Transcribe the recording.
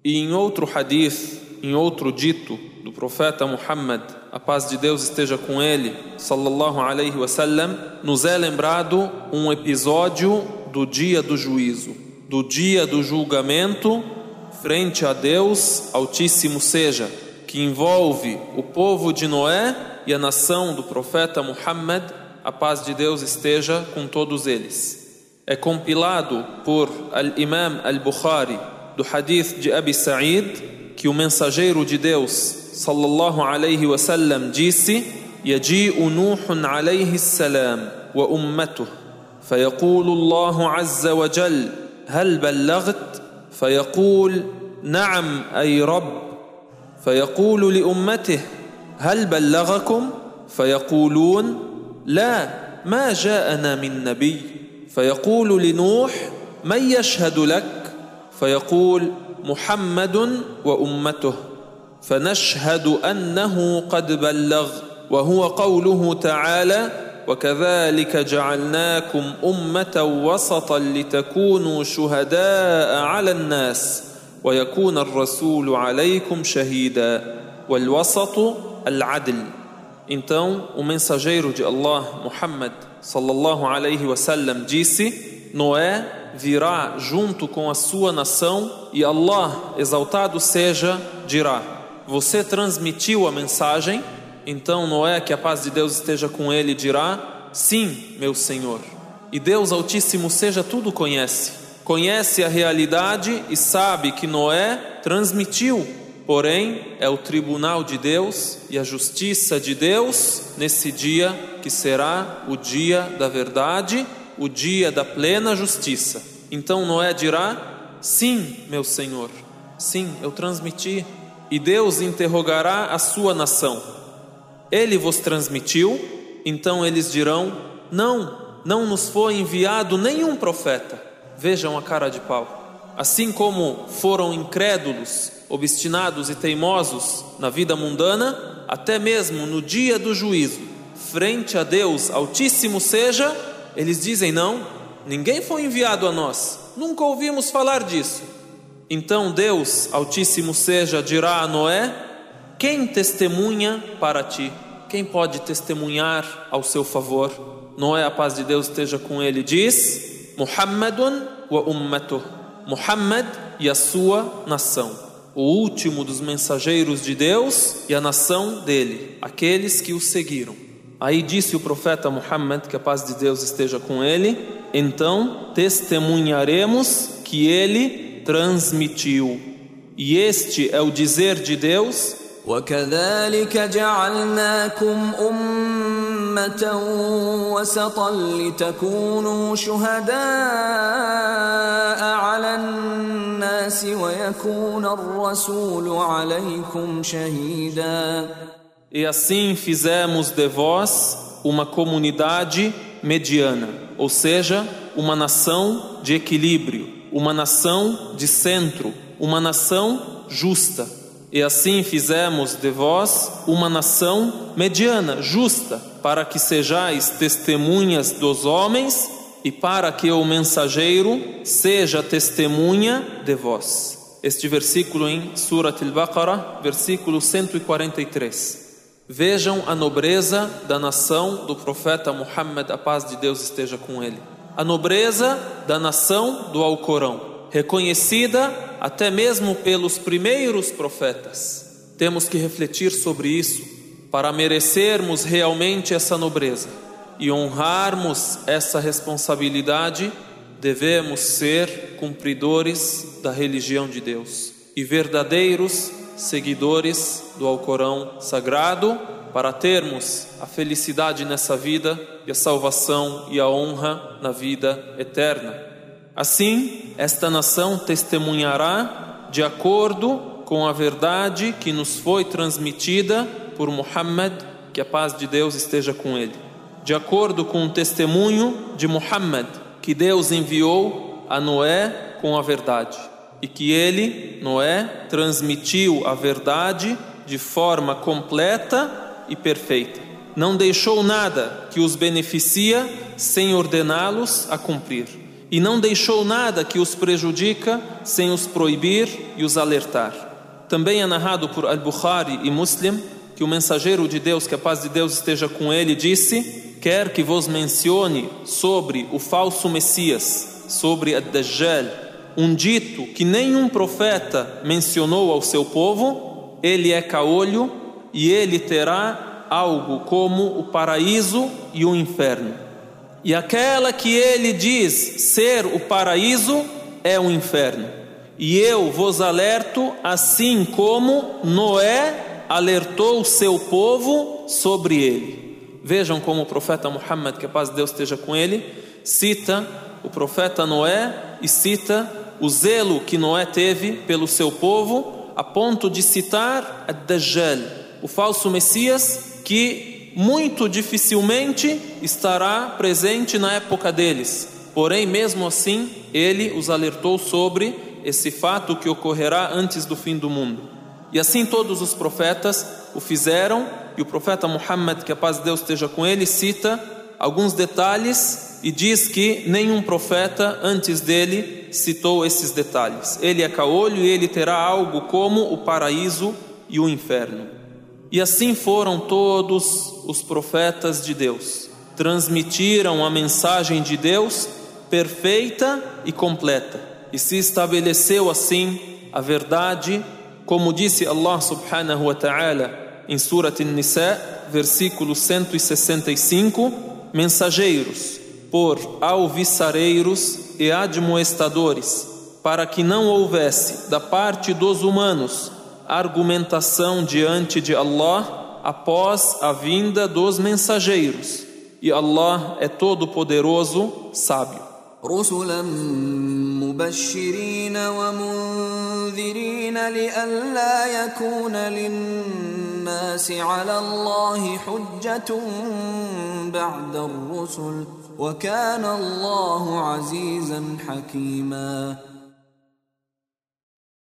E em outro hadith, em outro dito do profeta Muhammad, a paz de Deus esteja com ele, sallallahu alaihi wasallam, nos é lembrado um episódio do dia do juízo, do dia do julgamento frente a Deus Altíssimo seja, que envolve o povo de Noé e a nação do profeta Muhammad, a paz de Deus esteja com todos eles. É compilado por Al-Imam Al-Bukhari do hadith de Abi Sa'id que o mensageiro de Deus sallallahu alaihi wasallam disse: Yaji'u Nuhun alaihi salam wa ummatuh fayaqulu Allahu azza wa jal hal ballaght fayaqul na'am ay rabb fayaqulu li ummatihi hal ballaghakum fayaqulun la ma ja'ana min nabiy fayaqulu li Nuh man yashhadu lak fayaqul محمد وأمته فنشهد أنه قد بلغ وهو قوله تعالى وكذلك جعلناكم أمة وسطا لتكونوا شهداء على الناس ويكون الرسول عليكم شهيدا والوسط العدل. Então o mensageiro de Allah, Muhammad sallallahu alaihi wasallam, disse: Noé virá junto com a sua nação e Allah, exaltado seja, dirá: você transmitiu a mensagem? Então Noé, que a paz de Deus esteja com ele, dirá: sim, meu Senhor. E Deus Altíssimo seja tudo conhece a realidade e sabe que Noé transmitiu. Porém, é o tribunal de Deus e a justiça de Deus nesse dia que será o dia da verdade, o dia da plena justiça. Então Noé dirá: sim, meu Senhor, sim, eu transmiti. E Deus interrogará a sua nação: ele vos transmitiu? Então eles dirão: não nos foi enviado nenhum profeta. Vejam a cara de pau. Assim como foram incrédulos, obstinados e teimosos na vida mundana, até mesmo no dia do juízo, frente a Deus Altíssimo seja, eles dizem: não, ninguém foi enviado a nós, nunca ouvimos falar disso. Então Deus Altíssimo seja dirá a Noé: quem testemunha para ti? Quem pode testemunhar ao seu favor? Noé, a paz de Deus esteja com ele, diz: Muhammadun wa ummatuh, Muhammad e a sua nação, o último dos mensageiros de Deus e a nação dele, aqueles que o seguiram. Aí disse o profeta Muhammad, que a paz de Deus esteja com ele: então testemunharemos que ele transmitiu. E este é o dizer de Deus: وَكَذَلِكَ جَعَلْنَاكُمْ أُمَّةً وَسَطًا لِتَكُونُوا شُهَدَاءَ عَلَى النَّاسِ وَيَكُونَ الرَّسُولُ عَلَيْكُمْ شَهِيدًا. E assim fizemos de vós uma comunidade mediana, ou seja, uma nação de equilíbrio, uma nação de centro, uma nação justa. E assim fizemos de vós uma nação mediana, justa, para que sejais testemunhas dos homens e para que o mensageiro seja testemunha de vós. Este versículo em Surat Al-Baqarah, versículo 143. Vejam a nobreza da nação do profeta Muhammad, a paz de Deus esteja com ele. A nobreza da nação do Alcorão, reconhecida até mesmo pelos primeiros profetas. Temos que refletir sobre isso para merecermos realmente essa nobreza e honrarmos essa responsabilidade. Devemos ser cumpridores da religião de Deus e verdadeiros seguidores do Alcorão Sagrado, para termos a felicidade nessa vida e a salvação e a honra na vida eterna. Assim, esta nação testemunhará de acordo com a verdade que nos foi transmitida por Muhammad, que a paz de Deus esteja com ele. De acordo com o testemunho de Muhammad, que Deus enviou a Noé com a verdade. E que ele, Noé, transmitiu a verdade de forma completa e perfeita. Não deixou nada que os beneficia sem ordená-los a cumprir. e não deixou nada que os prejudica sem os proibir e os alertar. Também é narrado por Al-Bukhari e Muslim que o mensageiro de Deus, que a paz de Deus esteja com ele, disse: quer que vos mencione sobre o falso Messias, sobre Ad-Dajjal, um dito que nenhum profeta mencionou ao seu povo. Ele é caolho e ele terá algo como o paraíso e o inferno. E aquela que ele diz ser o paraíso é o inferno. E eu vos alerto, assim como Noé alertou o seu povo sobre ele. Vejam como o profeta Muhammad, que a paz de Deus esteja com ele, cita o profeta Noé e cita o zelo que Noé teve pelo seu povo, a ponto de citar Ad-Dajjal, o falso Messias, que muito dificilmente estará presente na época deles. Porém, mesmo assim, ele os alertou sobre esse fato que ocorrerá antes do fim do mundo. E assim todos os profetas o fizeram, e o profeta Muhammad, que a paz de Deus esteja com ele, cita alguns detalhes e diz que nenhum profeta antes dele citou esses detalhes. Ele é caolho e ele terá algo como o paraíso e o inferno. E assim foram todos os profetas de Deus. Transmitiram a mensagem de Deus perfeita e completa. E se estabeleceu assim a verdade, como disse Allah subhanahu wa ta'ala em Surat An-Nisa, versículo 165, mensageiros por alvissareiros e admoestadores, para que não houvesse da parte dos humanos argumentação diante de Allah após a vinda dos mensageiros. E Allah é todo poderoso, sábio. رسلا مبشرين ومنذرين لئلا يكون للناس على الله حجة بعد الرسل وكان الله عزيزا حكيما